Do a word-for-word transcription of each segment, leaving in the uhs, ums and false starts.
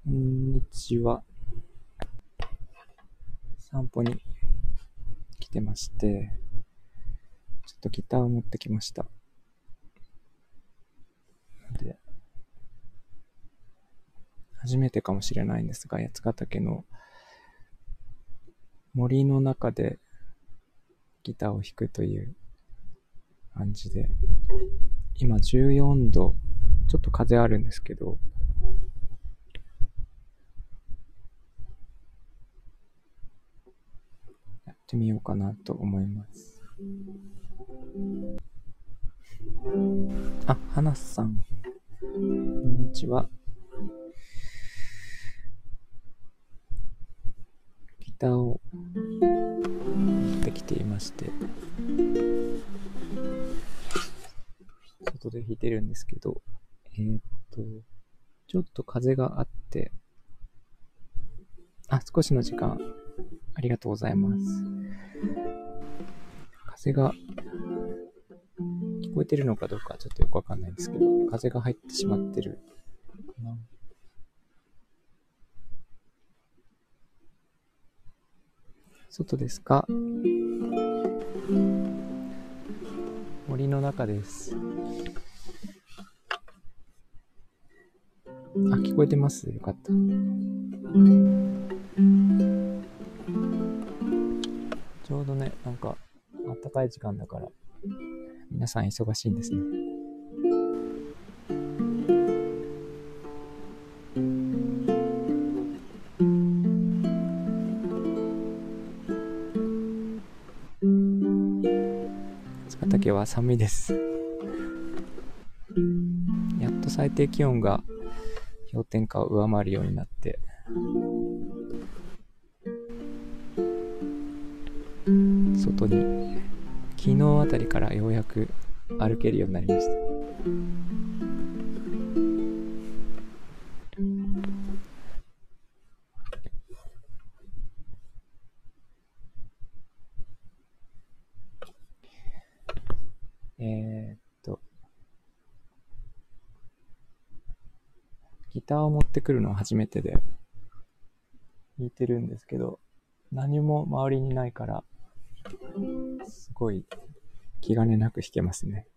こんにちは。散歩に来てまして、ちょっとギターを持ってきました。で、初めてかもしれないんですが、八ヶ岳の森の中でギターを弾くという感じで、今じゅうよんど、ちょっと風あるんですけど、やってみようかなと思います。あ、花さん、こんにちは。ギターを持ってきていまして、外で弾いてるんですけど、えーっと、ちょっと風があって、あ、少しの時間、ありがとうございます。風が、聞こえてるのかどうかちょっとよくわかんないんですけど、風が入ってしまってるかな。外ですか？森の中です。あ、聞こえてます？よかった。ちょうどね、なんか、あったかい時間だから、皆さん忙しいんですね。八ヶ岳は寒いです。やっと最低気温が氷点下を上回るようになって、外に昨日あたりからようやく歩けるようになりました。えー、っとギターを持ってくるのは初めてで弾いてるんですけど、何も周りにないからすごい気兼ねなく弾けますね。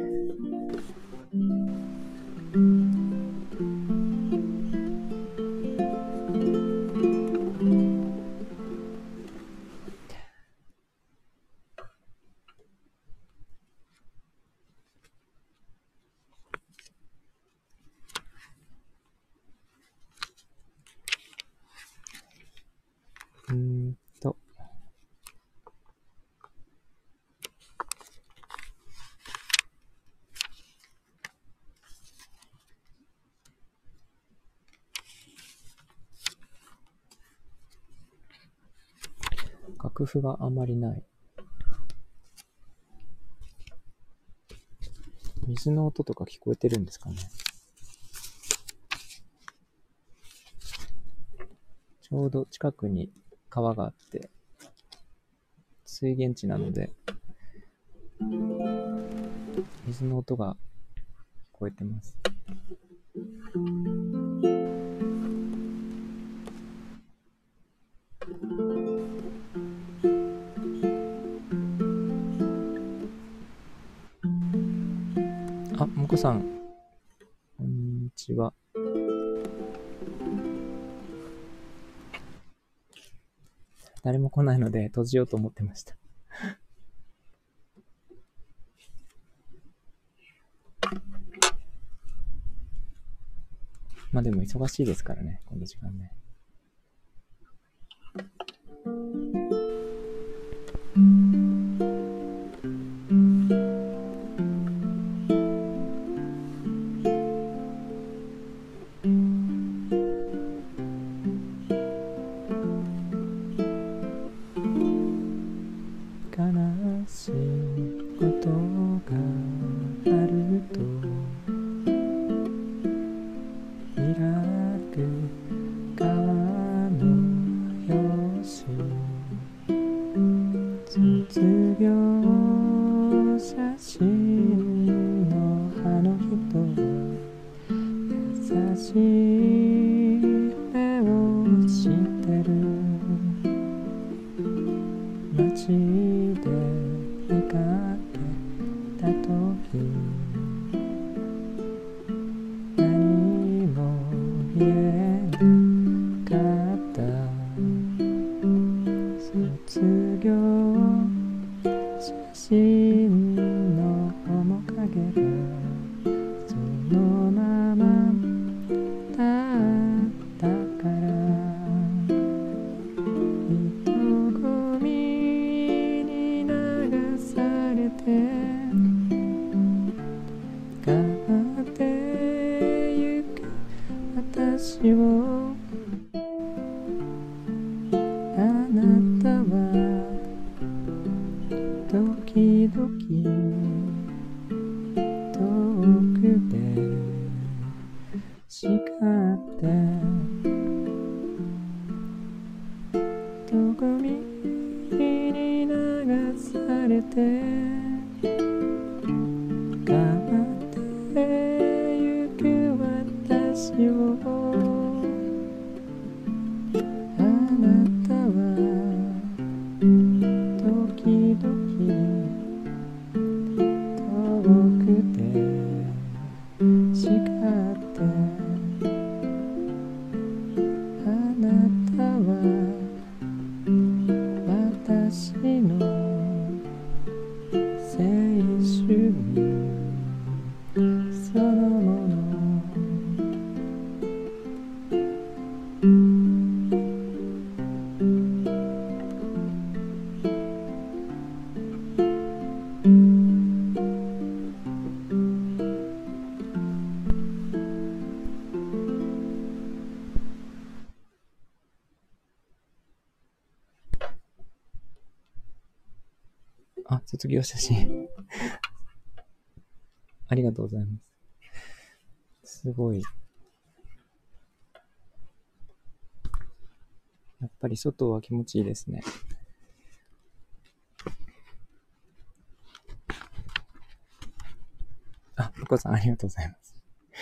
うーんと楽譜があまりない。水の音とか聞こえてるんですかね。ちょうど近くに川があって水源地なので水の音が聞こえてます。あ、もこさん、こんにちは。誰も来ないので閉じようと思ってました。まあでも忙しいですからね、この時間ね。悲しいことがあると開く川のよし卒業写真のあの人は優しい私をあなたは時々遠くで叱ってどこみに流されて変わってゆく私をあなたは時々遠くで叱ってあなたは私の青春そのものあ、卒業写真ありがとうございます。すごい。やっぱり外は気持ちいいですね。あ、お子さんありがとうございます。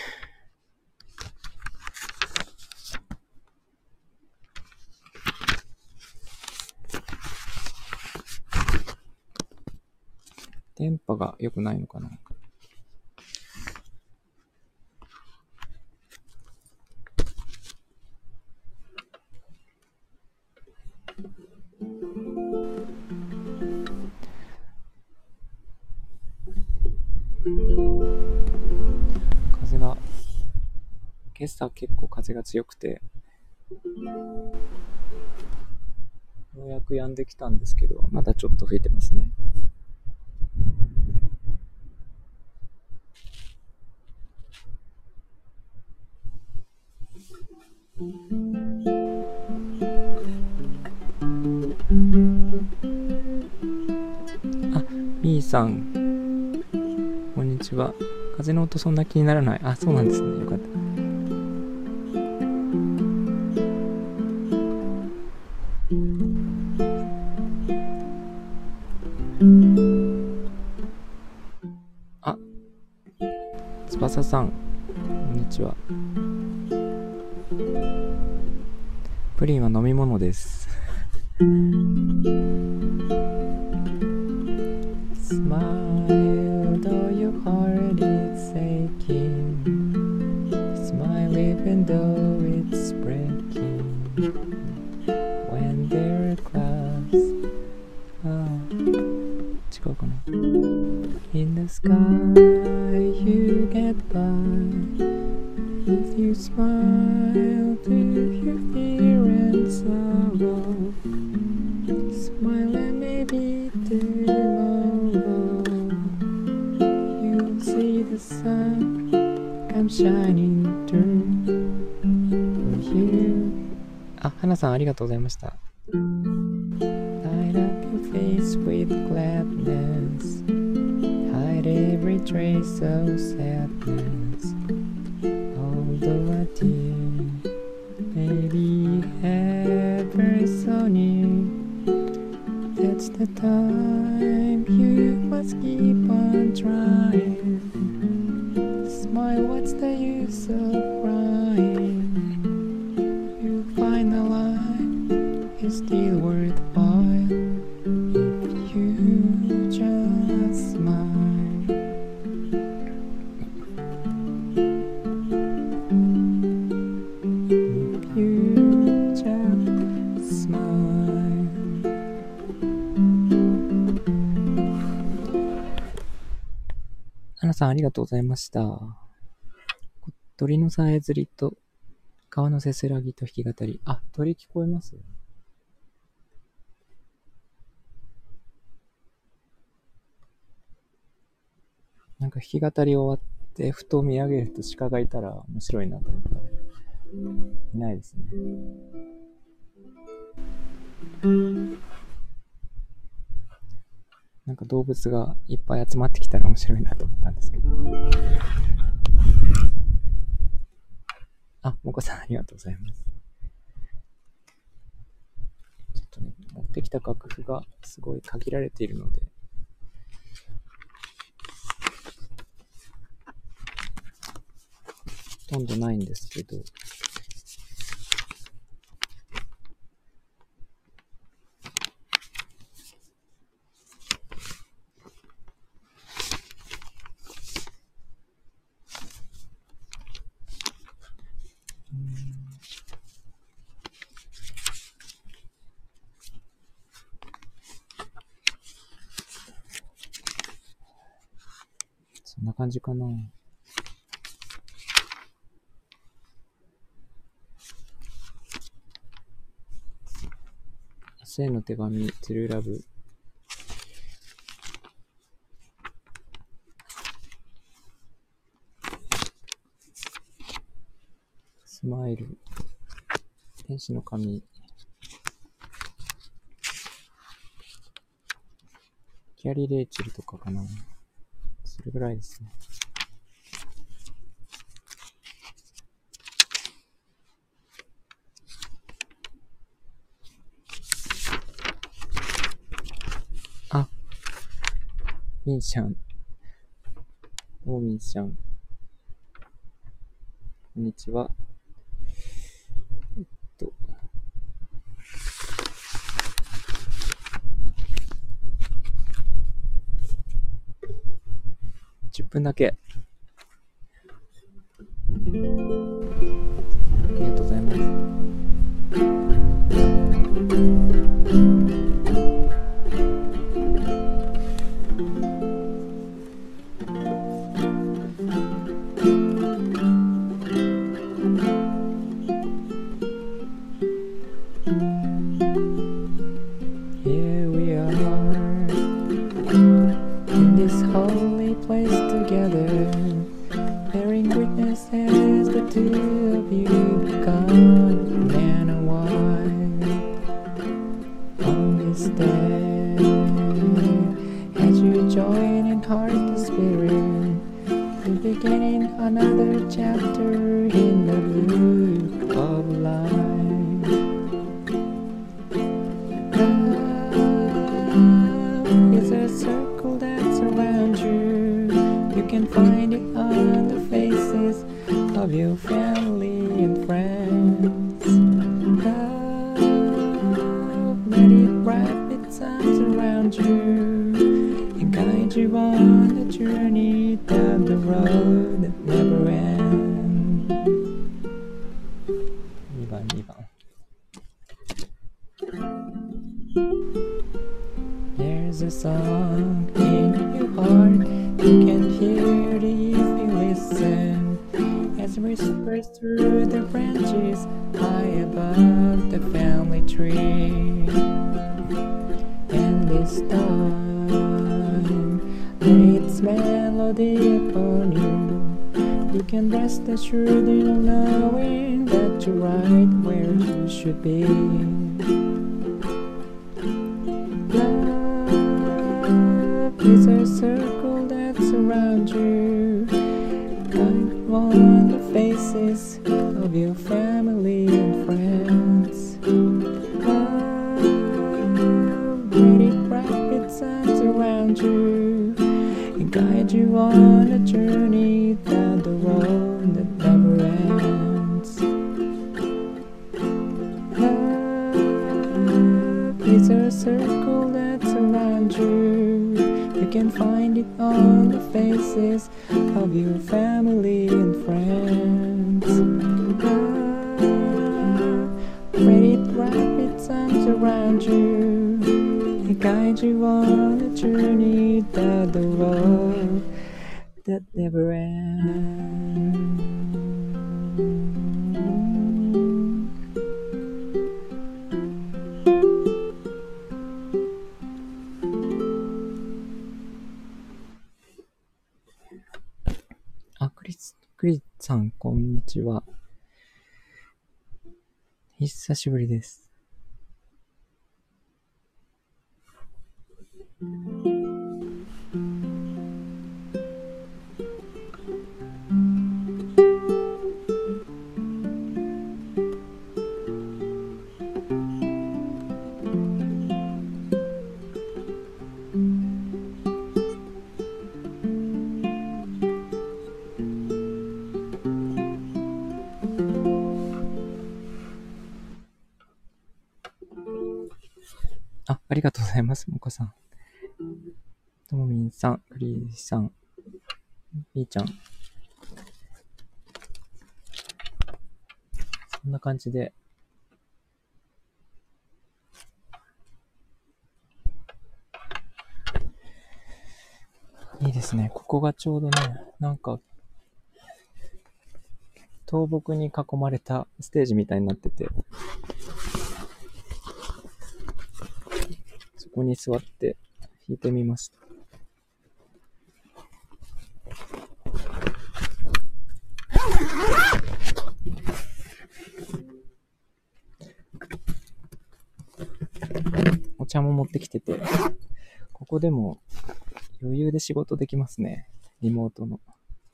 電波が良くないのかな。風が、今朝結構風が強くて、ようやく止んできたんですけど、まだちょっと吹いてますね。あ、みーさん、こんにちは。風の音そんな気にならない。あ、そうなんですね。よかった。あ、翼さん、こんにちは。プリンは飲み物です。Smile though your heart is aching. Smile even though it's breaking. When there are clouds, ah, 違うかな。In the sky you get by. If you smile to your fear and sorrow, smile and maybe tomorrow you'll see the sun come shining through for you. あ、花さんありがとうございました。Light up your face with gladness, hide every trace of sadness.Although a tear may be ever so near, that's the time you must keep on trying. Smile, what's the use of crying? You'll find the life is still worthwhile if you just smile.花さんありがとうございました。鳥のさえずりと川のせせらぎと弾き語り。あ、鳥聞こえます？なんか弾き語り終わってふと見上げると鹿がいたら面白いなと思った。 いないですね。なんか動物がいっぱい集まってきたら面白いなと思ったんですけど。あ、もこさんありがとうございます。ちょっとね、持ってきた楽譜がすごい限られているので、ほとんどないんですけど、そんな感じかな。明日への手紙、トゥルーラブ。スマイル。天使の髪。キャリー・レイチェルとかかな。それぐらいですね。あ、ミンシャン。どうもミンシャン。こんにちは。えっと。じゅっぷんだけ。ありがとうございます。Here we are in this holy place together, bearing witness as the two of you become man and wife. On this day, as you join in heart and spirit, you're beginning another chapter in the book of life. It's a circle that's around you. You can find it on the faces of your family and friends. Love, let it wrap its arms around you and guide you on the journey down the road that never ends. にばんにばん。There's a song in your heart you can hear it if you listen, as it whispers through the branches high above the family tree. And this time, lay its melody upon you. You can rest assured in knowing that you're right where you should be. Is a circle that's around you, guide on the faces of your family and friends. Love, let it wrap its arms around you and guide you on a journey down the road that never ends. Love is a circle that's around you. You can find it on the faces of your family and friends. Love, let it wrap its arms around you and guide you on a journey down the road that never ends. あ、クリス、クリスさん、こんにちは。 久しぶりです。あ、ありがとうございます、もこさん。ともみんさん、クリーさん、みーちゃん。こんな感じで、いいですね。ここがちょうどね、なんか、倒木に囲まれたステージみたいになってて、そこに座って弾いてみました。お茶も持ってきてて、ここでも余裕で仕事できますね。リモートの。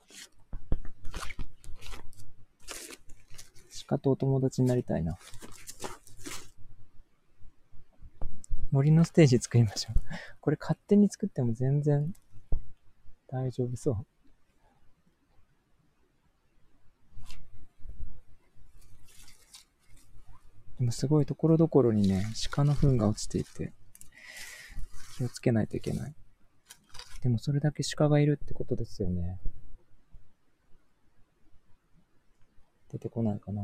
鹿とお友達になりたいな。森のステージ作りましょう。これ勝手に作っても全然大丈夫そう。でもすごいところどころにね、鹿の糞が落ちていて、気をつけないといけない。でもそれだけ鹿がいるってことですよね。出てこないかな。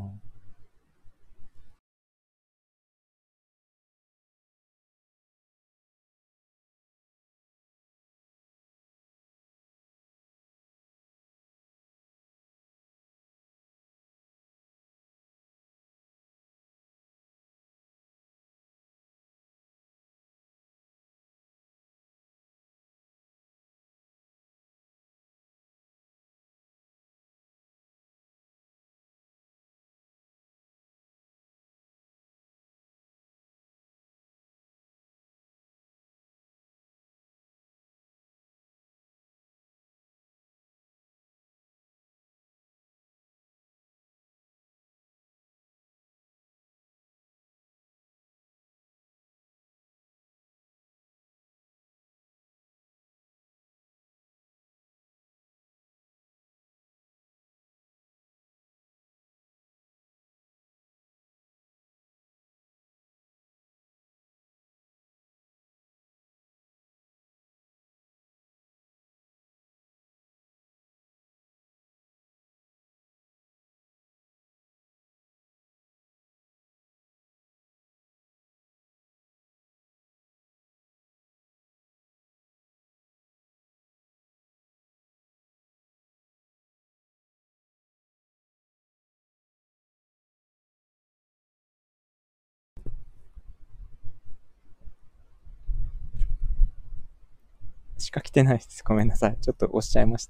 鹿来てないです。ごめんなさい。ちょっと押しちゃいました。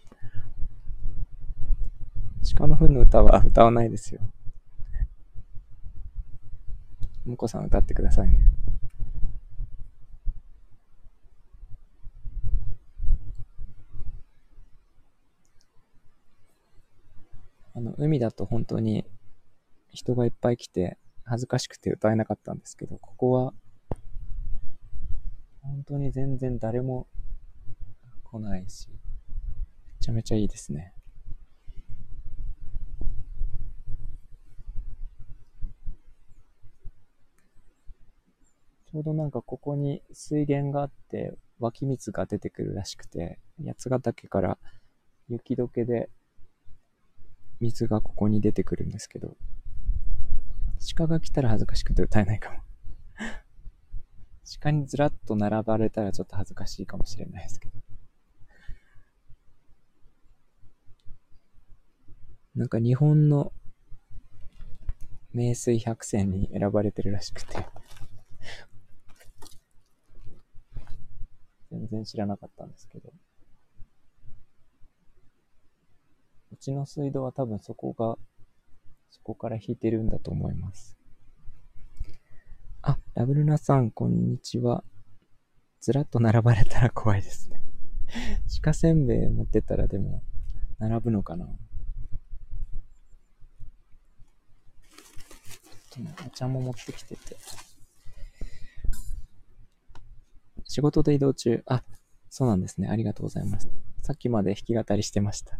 鹿の糞の歌は歌わないですよ。もこさん歌ってくださいね。あの、海だと本当に人がいっぱい来て、恥ずかしくて歌えなかったんですけど、ここは本当に全然誰も来ないし、めちゃめちゃいいですね。ちょうどなんかここに水源があって湧き水が出てくるらしくて、八ヶ岳から雪解けで水がここに出てくるんですけど、鹿が来たら恥ずかしくて歌えないかも。鹿にずらっと並ばれたらちょっと恥ずかしいかもしれないですけど。なんか日本の名水百選に選ばれてるらしくて、全然知らなかったんですけど、うちの水道は多分そこがそこから引いてるんだと思います。あ、ラブルナさん、こんにちは。ずらっと並ばれたら怖いですね。鹿せんべい持ってたらでも、並ぶのかな。お茶も持ってきてて。仕事で移動中。あ、そうなんですね。ありがとうございます。さっきまで弾き語りしてました。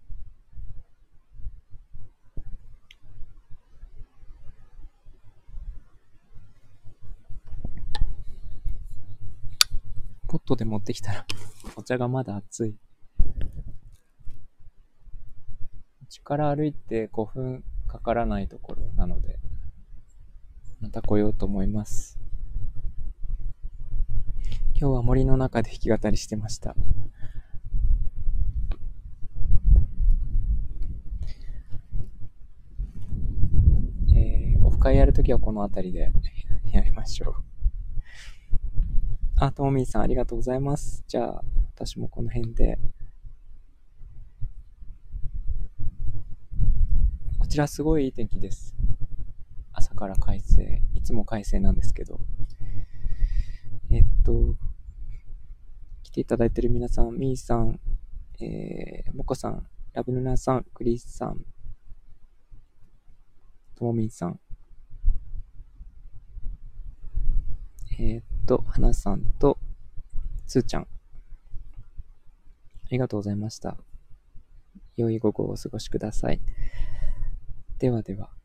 ポットで持ってきたら、お茶がまだ熱い。うちから歩いてごふんかからないところなので、また来ようと思います。今日は森の中で弾き語りしてました。えー、オフ会やるときはこの辺りでやりましょう。あ、ともみーさんありがとうございます。じゃあ、私もこの辺で。こちらすごいいい天気です。朝から快晴。いつも快晴なんですけど。えっと、来ていただいている皆さん、みーさん、えー、もこさん、ラブルナさん、クリスさん、ともみんさん、えー、っと、はなさんと、つーちゃん、ありがとうございました。良い午後をお過ごしください。ではでは。